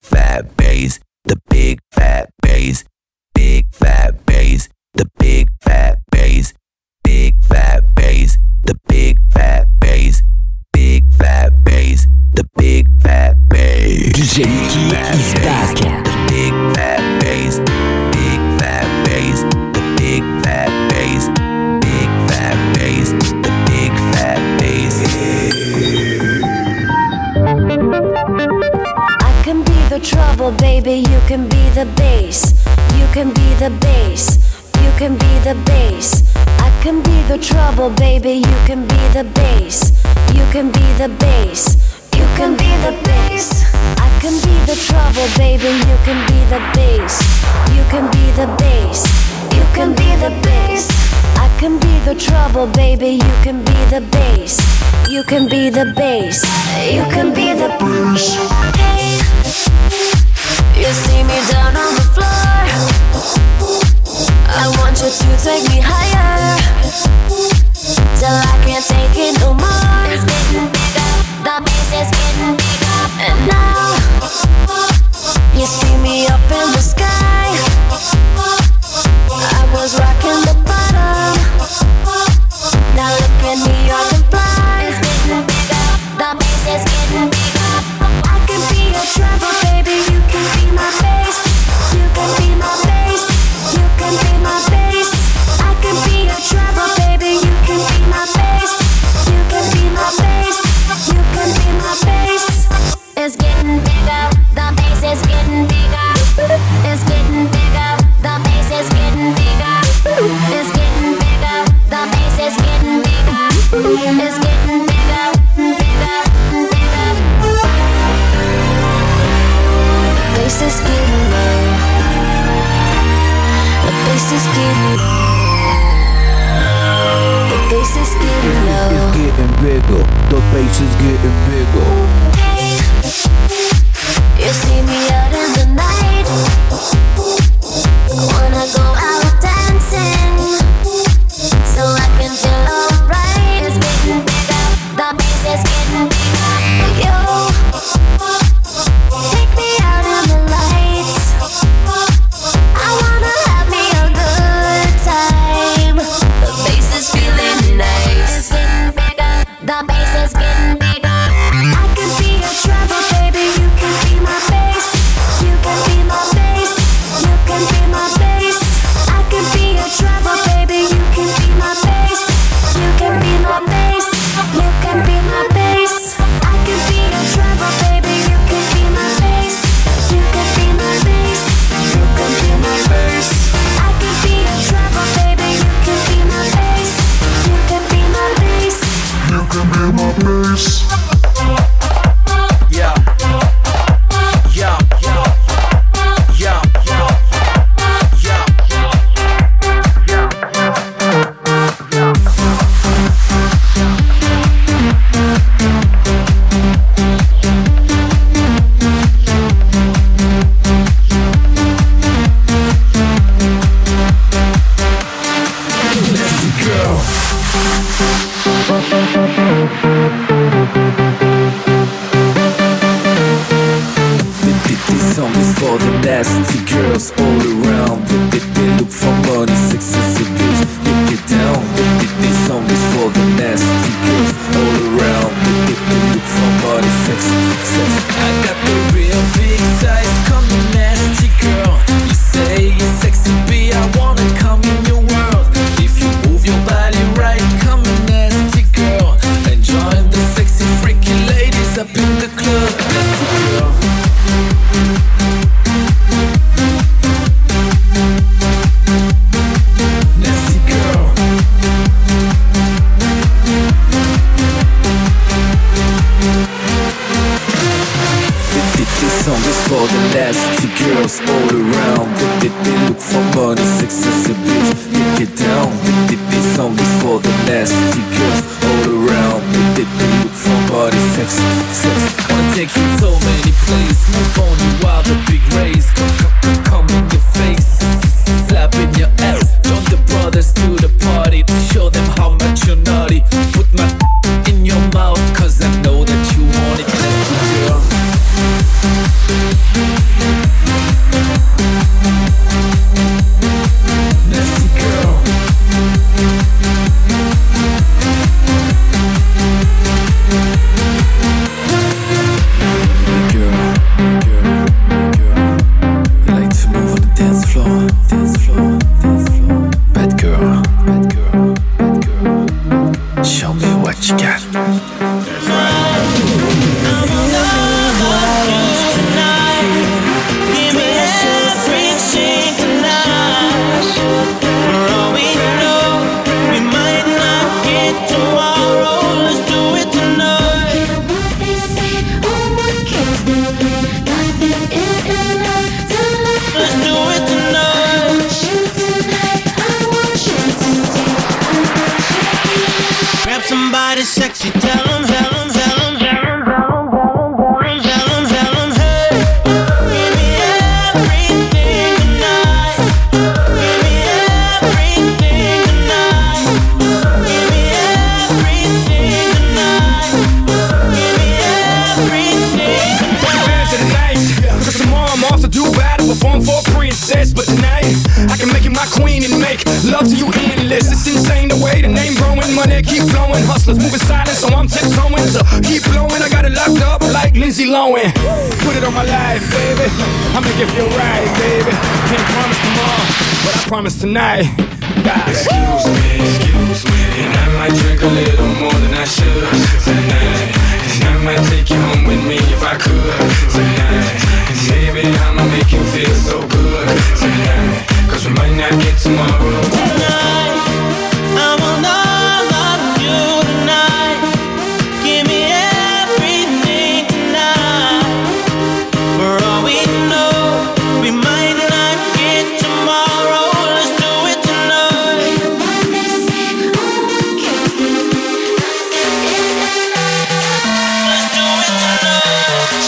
fat bass, the big fat bass, big fat bass, the big fat bass, big fat bass, the big fat bass, big fat bass, the big fat bass. DJ Nicky is back. The big fat bass, big fat bass, the big fat bass, big fat bass, the big fat bass. I can be the trouble, baby, you can be the bass. You can be the bass, you can be the bass. I can be the trouble, baby, you can be the bass. You can be the bass, you can be the bass. I can be the trouble, baby, you can be the bass. You can be the bass, you can be the bass. I can be the trouble, baby, you can be the bass. You can be the bass, you can be the bass. Hey, you see me down on the floor. I want you to take me higher, till I can't take it no more. It's getting bigger, the bass is getting bigger. And now, you see me up in the sky. I was rocking the bottom, now look at me, I can fly. It's getting bigger, the bass is getting bigger. I can be your trouble, baby, you can be my bass. You can be my bass, you can be my bass. I can be your trouble, baby, you can be my bass. You can be my bass, you can be my bass. It's getting bigger, the bass is getting bigger. It's getting bigger, the bass is getting bigger. It's getting bigger, the bass is getting bigger. It's getting bigger, bigger, bigger. The bass is getting low. The bass is getting low. The bass is getting low. It's getting bigger, the bass is getting bigger. You see me out in the night. I wanna go out dancing, so I can feel alright. It's getting bigger, the bass is getting bigger. Yo, take me out in the lights. I wanna have me a good time. The bass is feeling nice. It's getting bigger, the bass is getting bigger. I can be your trouble, baby, you can be my bass. You can be my bass, you can be my bass. I can be your trouble, baby, you can be my bass. You can be my bass, you can be my bass. I can be your trouble, baby, you can be my bass. You can be my bass, you can be my bass. I can be your trouble, baby, you can be my bass. You can be my bass. You can be my bass. Yeah. Yeah. Yeah. Yeah. This song is for the nasty girls all around. They look for money, sex is a bitch. Look it down. This song is for the nasty girls all around. They look for money, sex. I got the real big size, come the nasty girl. You say you're sexy, B, I wanna come in your world. If you move your body right, come a nasty girl. And join the sexy freaky ladies up in the club. Nasty girl. Nasty girl. This song is for the nasty girls all around. They look for money, sex is a bitch. Get it down. This song is for the nasty girls all around. They look for money, sex. Wanna take you so many places. Move on you while the big race. Come in your face, slap in your ass. Join the brothers to the party to show them how much you're naughty. Put my in your mouth, cause I know that you want it. Nasty girl. body sexy, tell 'em, tell 'em, tell 'em, tell 'em, tell 'em, tell 'em, hey. Give me everything tonight. Give me everything tonight. Give me everything tonight. Give me everything tonight. Tonight, cause tomorrow I'm off to do battle, perform for a princess. But tonight, I can make you my queen and make love to you endless. It's insane the way the name growing, money keep flowing. Hustlers moving silent, so I'm tiptoeing. So keep blowing, I got it locked up like Lindsay Lohan. Put it on my life, baby. I make it feel right, baby. Can't promise tomorrow, but I promise tonight. Excuse me, and I might drink a little more than I should tonight. And I might take you home with me if I could tonight. And maybe I'ma make you feel so good tonight. Cause we might not get tomorrow. Tonight, I want all of you tonight. Give me everything tonight. For all we know, we might not get tomorrow. Let's do it tonight. Let's do it tonight.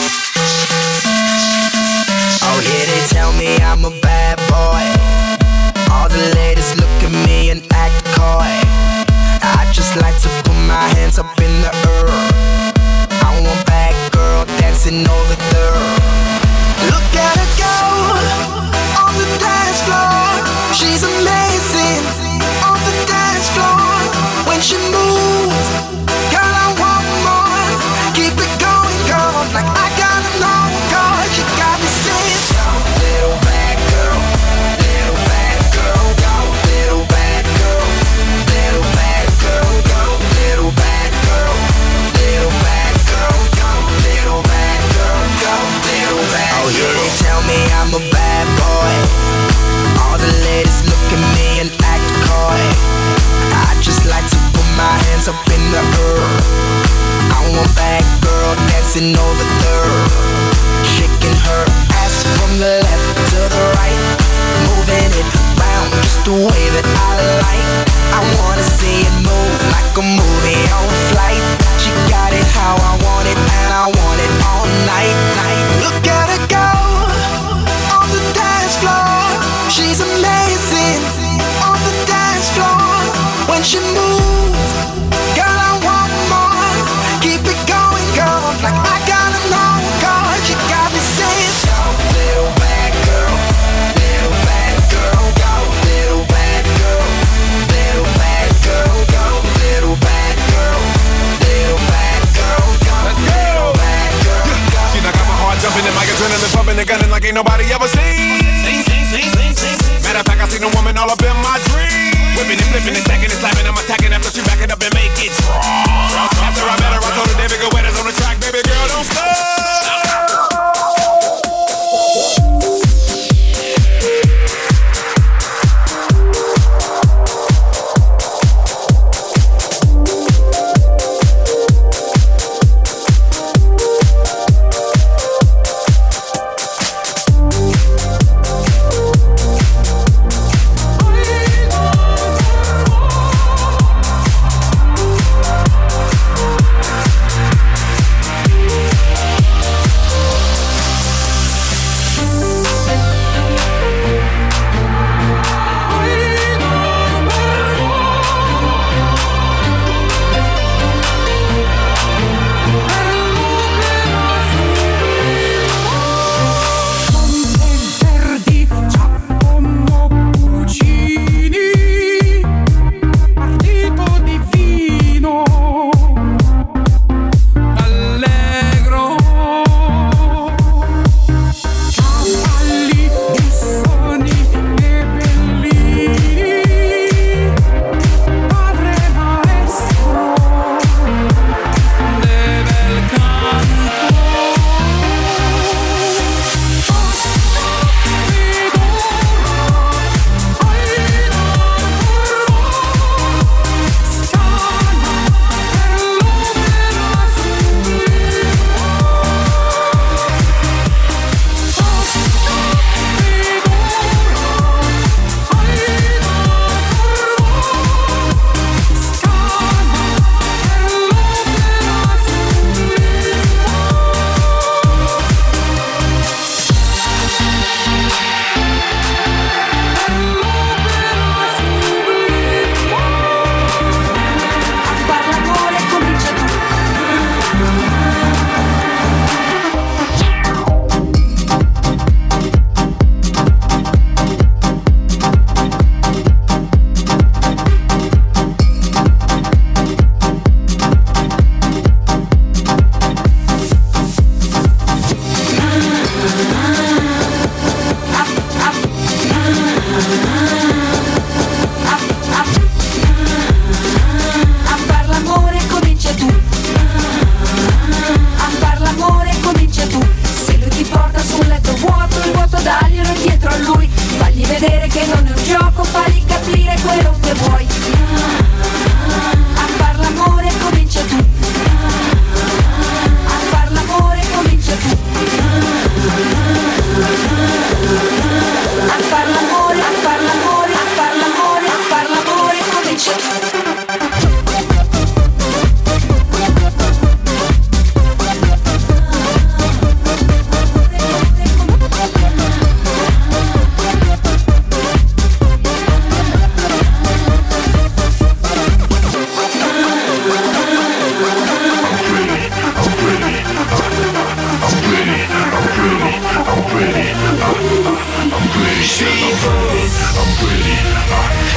Oh yeah, they tell me I'm a bad boy. All the ladies look at me and act coy. I just like to put my hands up in the air. I want bad girl dancing over there. Look at her go on the dance floor. She's amazing on the dance floor. When she moves, girl, I want more. Keep it going, girl, like I gotta know, cause you got me saying, go, little bad girl, little bad girl, go, little bad girl, little bad girl, go, little bad girl, little bad girl, go, little bad girl, go, little bad girl. Oh yeah, they tell me I'm a bad boy. All the ladies look at me and act coy. I just like to put my hands up in the air. I want bad girl dancing over there, shaking her ass from the left to the right, moving it round just the way that I like. I wanna see it move like a movie on flight. She got it how I want it, and I want it all night. Look at her go on the dance floor. She's amazing on the dance floor. When she moves, girl, I want more. Keep it going, girl, like I gotta know, cause you got me saying, go, little bad girl, little bad girl, go, little bad girl, little bad girl, go, little bad girl, little bad girl, go, little bad girl, go. See, I got my heart jumping and my adrenaline pumping and gunning like ain't nobody ever seen. Matter of fact, I seen a woman all up in my dreams. Whipping and flipping and stacking and slapping, I'm attacking after she back it up and make it drop. After I met her, I told her, David, go wet us on the track, baby girl, don't stop.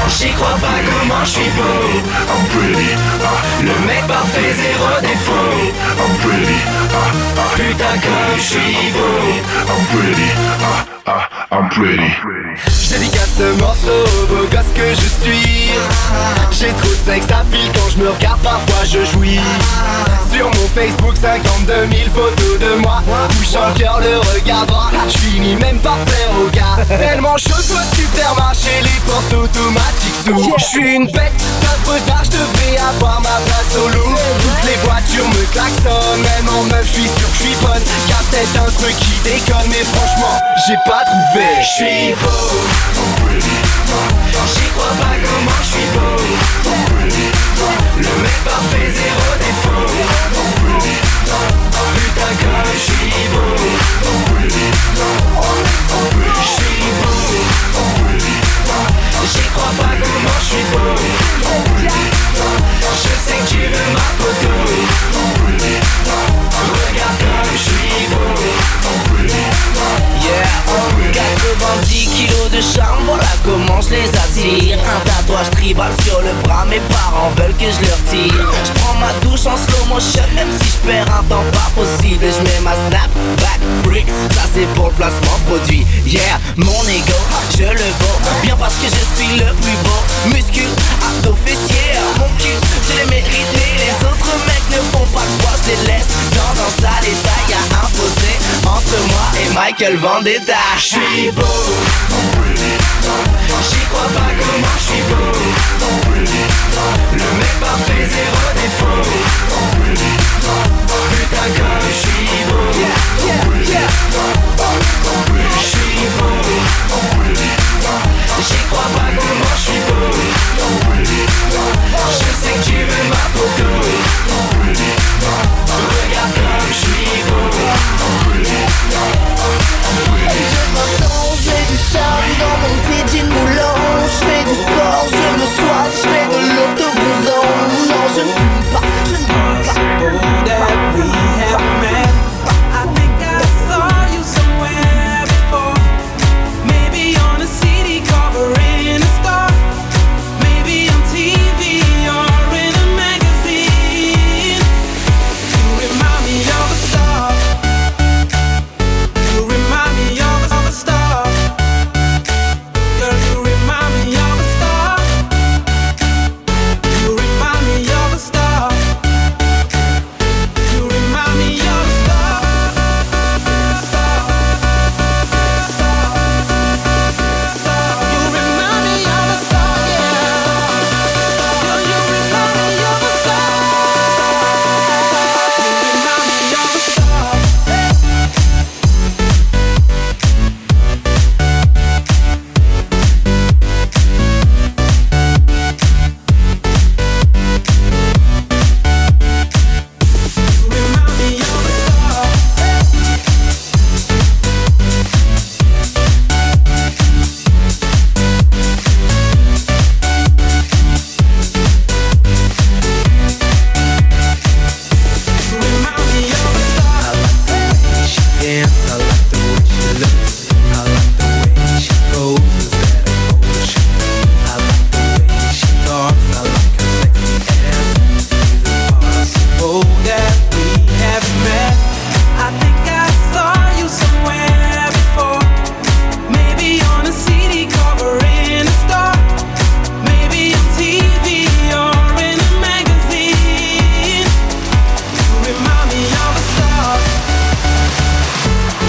J'y crois pas comment je suis beau. I'm pretty. Le mec parfait, zéro défaut. I'm pretty. Putain comme je suis beau. I'm pretty. I'm pretty. Je dédicace ce morceau au beau gosse que je suis. J'ai trop de sexe à fil quand je me regarde, parfois je jouis. Sur mon Facebook 52 000 photos de moi. Touchant le cœur, le regard droit. Je finis même par plaire aux gars. Tellement chaud, soit supermarché, les portes automatiques s'ouvrent. Je suis une bête, d'œuvre d'art, je devrais avoir ma place au loup. Toutes les voitures me klaxonnent, même en meuf, je suis sûr que je suis bonne. Y'a peut-être un truc qui déconne, mais franchement, j'ai pas trouvé. Je suis beau, j'y crois pas comment je suis beau. Le mec parfait, zéro défaut. Putain comme je suis beau. Je suis beau. J'y crois pas comment je suis beau. Je sais que tu veux ma photo. Regarde comme je suis beau. Yeah, 90 kilos de charme, voilà comment je les attire. Un tatouage tribal sur le bras, mes parents veulent que je leur tire. Je prends ma douche en slow motion, même si je perds un temps pas possible. Et je mets ma snap back bricks, ça c'est pour le placement produit. Yeah, mon ego, je le vaux, bien parce que je suis le plus beau. Muscule, abdos, fessiers, mon cul, je l'ai mérité. Les autres mecs ne font pas le poids, je les laisse dans un sale état. Y'a un fossé entre moi et Michael Vendetta. J'suis beau, j'y crois pas comment j'suis beau. Le mec parfait, zéro défaut. Putain comme j'suis beau. J'suis beau, j'y crois pas comment j'suis beau. Je sais que tu veux ma photo. Regarde comme j'suis beau. J'ai du charme dans mon petit jean moulant. J'fais du sport, je me soigne, j'fais de l'autobusant. Non, je ne fume pas, je ne fume pas. That we have met. I think I saw you somewhere before. Maybe on a CD cover in a store. Maybe on TV or in a magazine. You remind me of a star. You remind me of a star. Girl, you remind me of a star. You remind me of a star. You remind me of a star. You remind me of a star, yeah. Girl, you remind me of a star. You remind me of a star. You remind me of a star. You remind me of a star. I like the way she dances, I like the way she looks, I like the way she goes, that emotion. I like the way she talks, I like her sexy ass. Is it possible that we have met? I think I saw you somewhere before. Maybe on a CD cover in a store. Maybe on TV or in a magazine. You remind me of a star.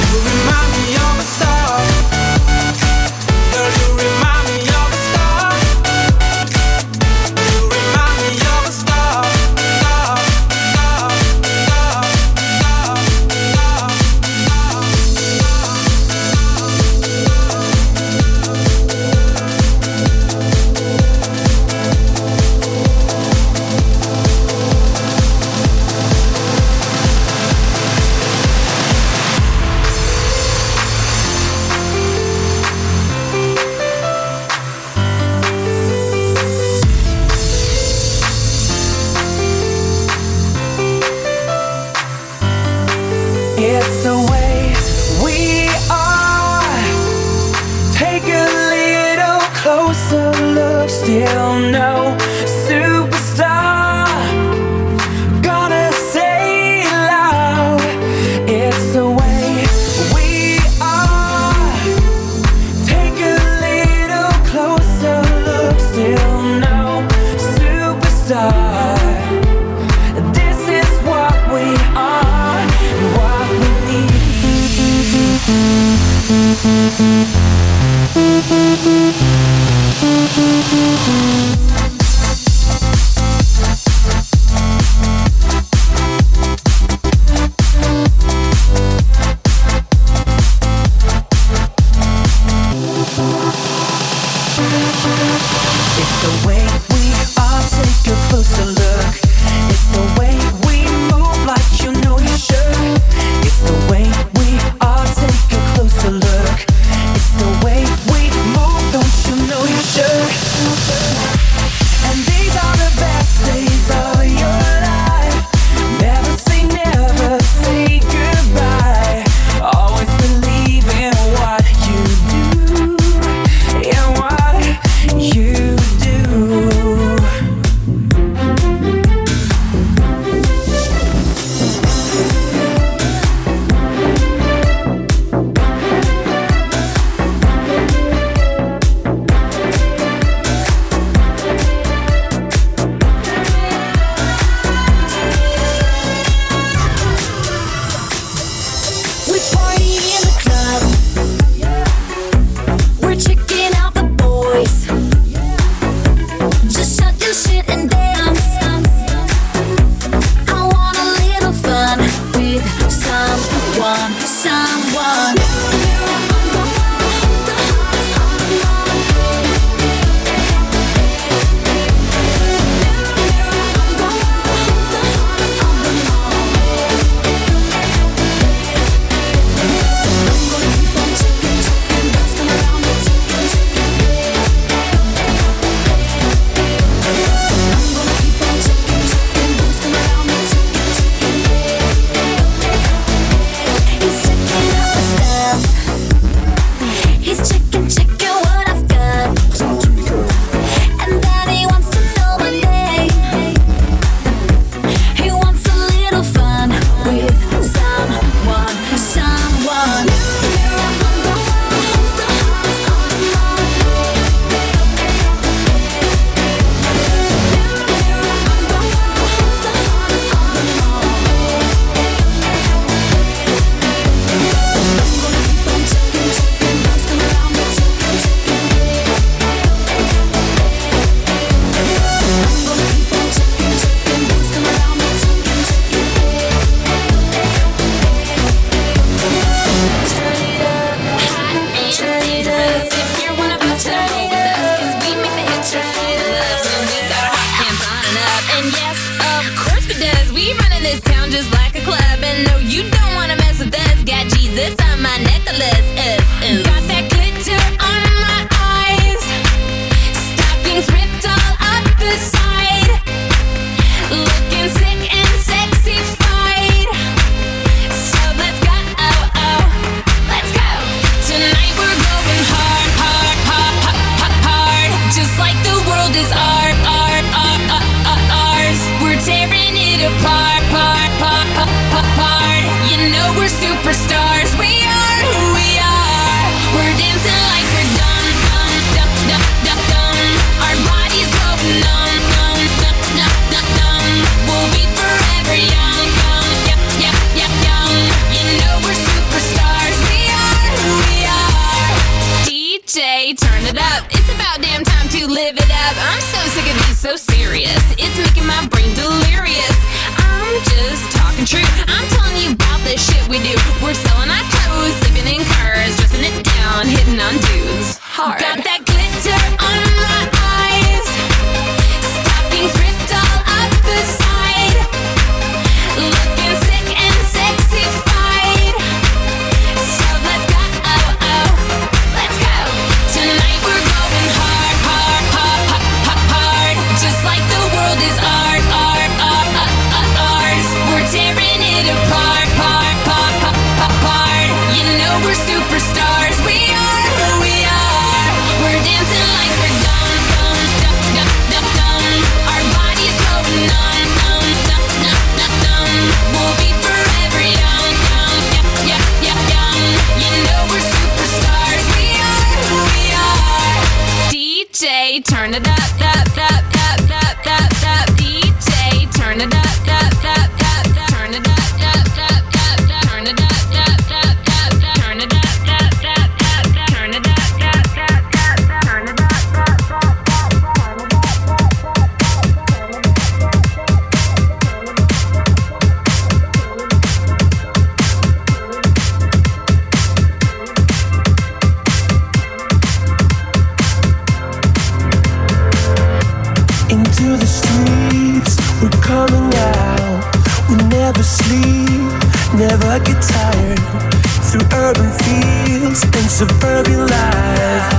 suburban life.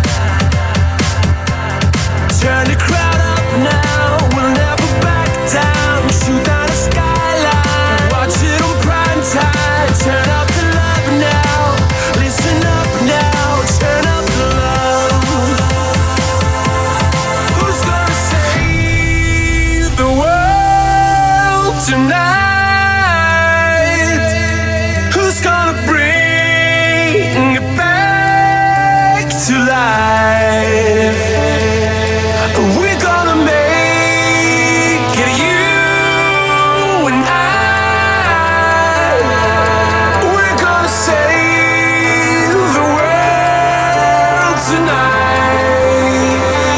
Turn the crowd up now, we'll never back down. Shoot down the skyline, watch it on prime time. Turn up the love now, listen up now, turn up the love. Who's gonna save the world tonight? Who's gonna bring it back to life? We're gonna make it, you and I. We're gonna save the world tonight.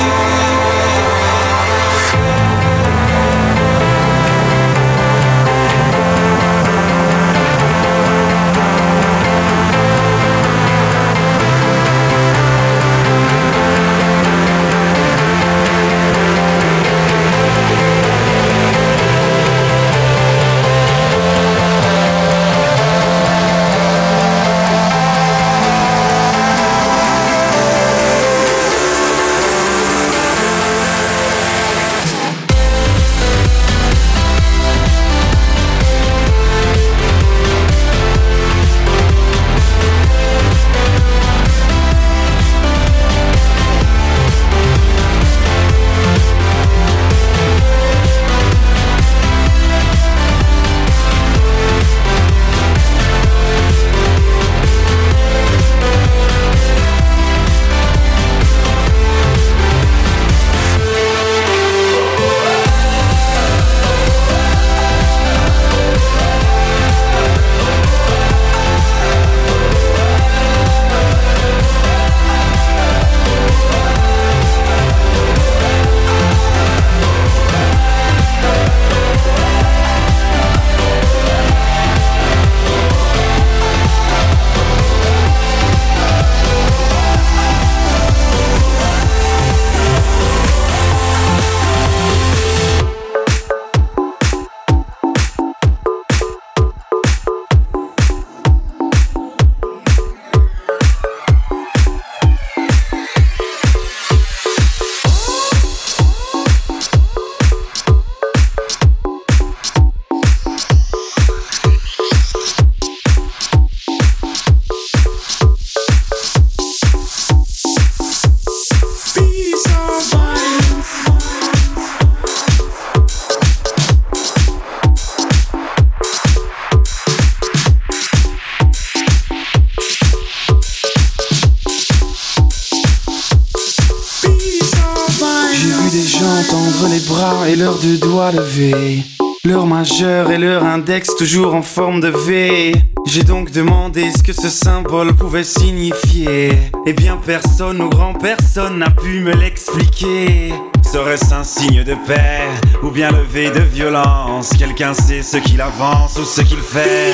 Et leurs deux doigts levés, leur majeur et leur index toujours en forme de V. J'ai donc demandé ce que ce symbole pouvait signifier. Eh bien personne ou grand personne n'a pu me l'expliquer. Serait-ce un signe de paix ou bien levé de violence? Quelqu'un sait ce qu'il avance ou ce qu'il fait?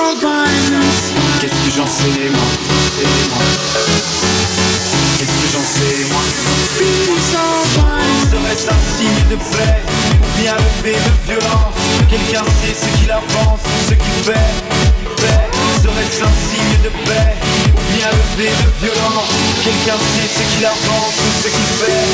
Qu'est-ce que j'en sais moi? Qu'est-ce que j'en sais moi? Serait-ce un signe de paix ou bien levé de violence? Quelqu'un sait ce qu'il avance ou ce qu'il fait? Serait-ce un signe de paix ou bien levé de violence? Quelqu'un sait ce qu'il avance ou ce qu'il fait?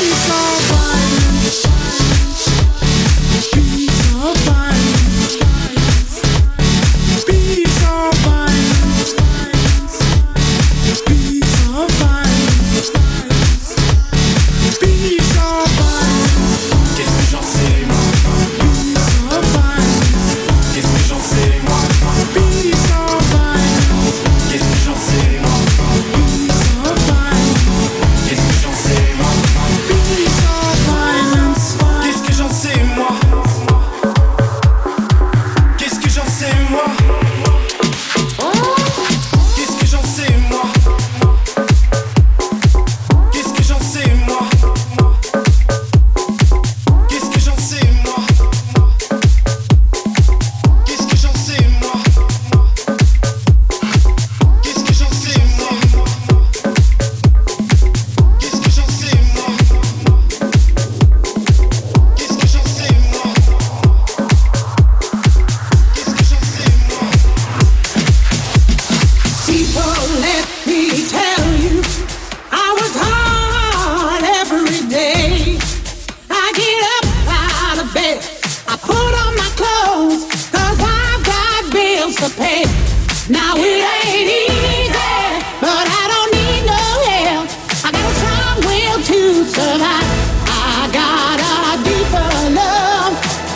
say, now it ain't easy, but I don't need no help. I got a strong will to survive. I got a deeper love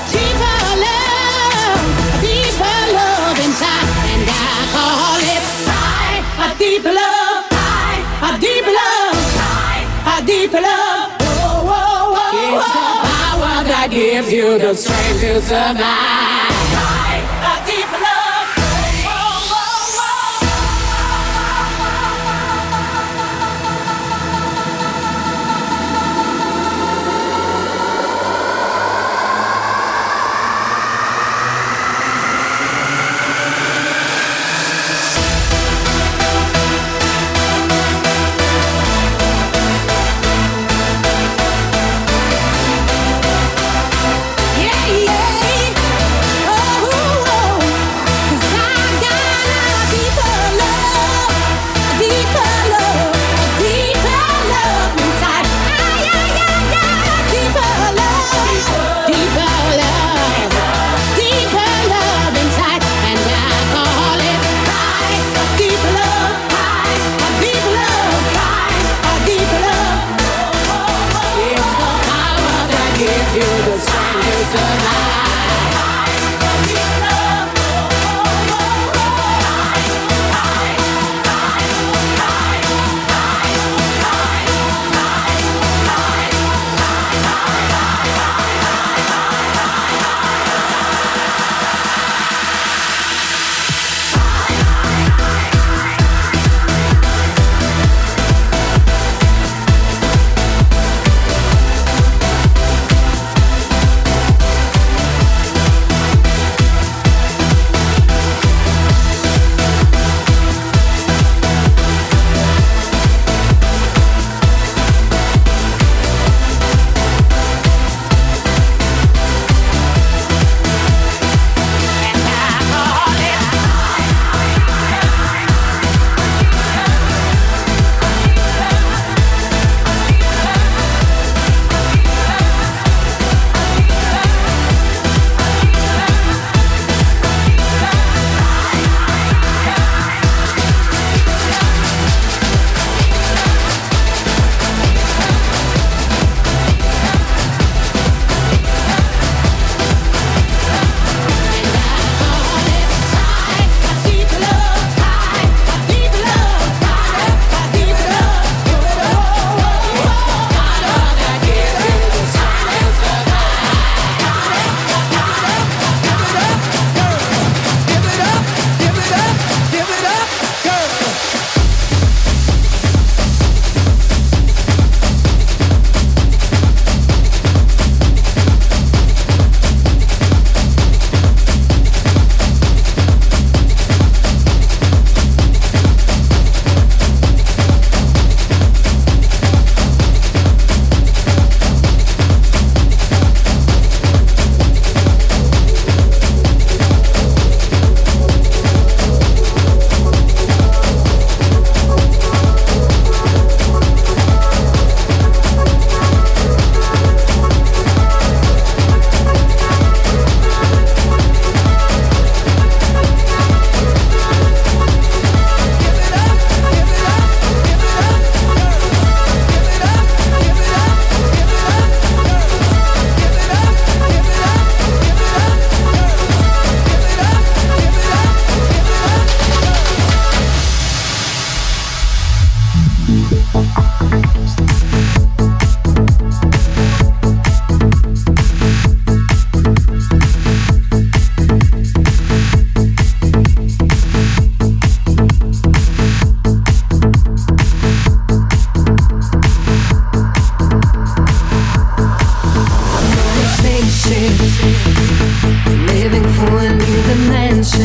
inside, and I call it a deep love, a deep love, a deep love. Whoa, whoa, whoa, it's the power that gives you the strength to survive. A deep love.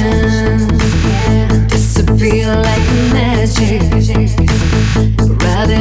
Disappear like magic. Rather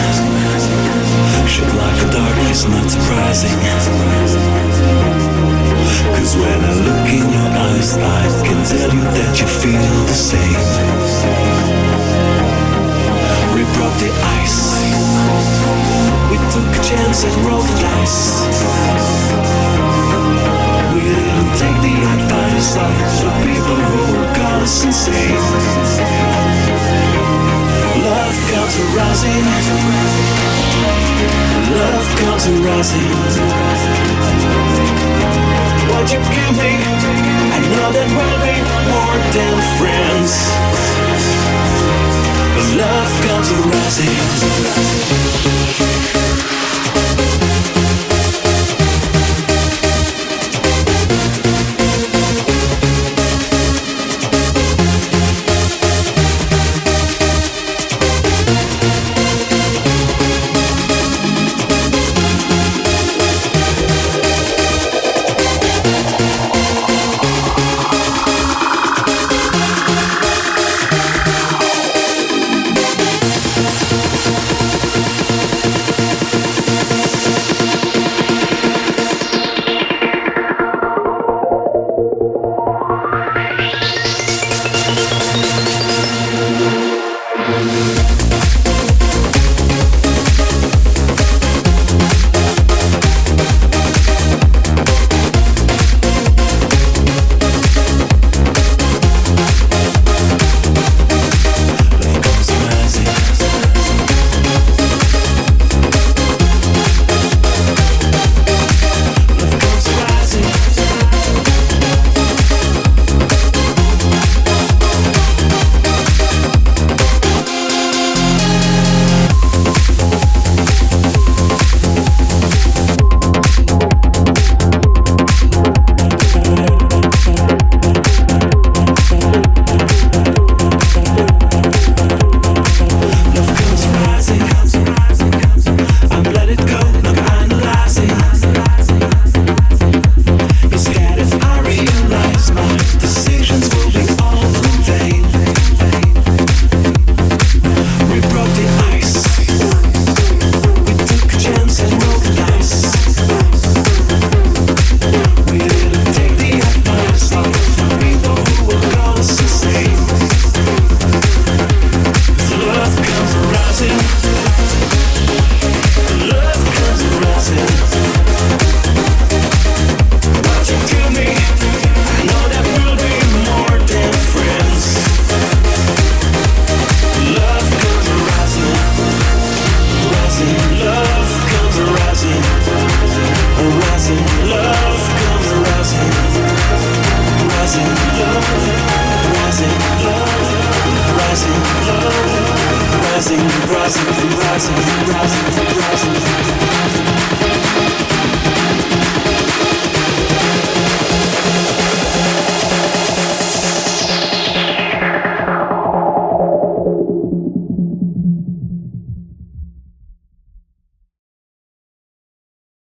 Shit like a darkness, not surprising. Cause when I look in your eyes, I can tell you that you feel the same. We broke the ice. We took a chance and rolled the dice. We didn't take the advice of the people who would call us insane. Love comes arising. Love comes arising. What you give me, I know that we'll be more than friends. Love comes arising. rising, rising, rising, rising, rising.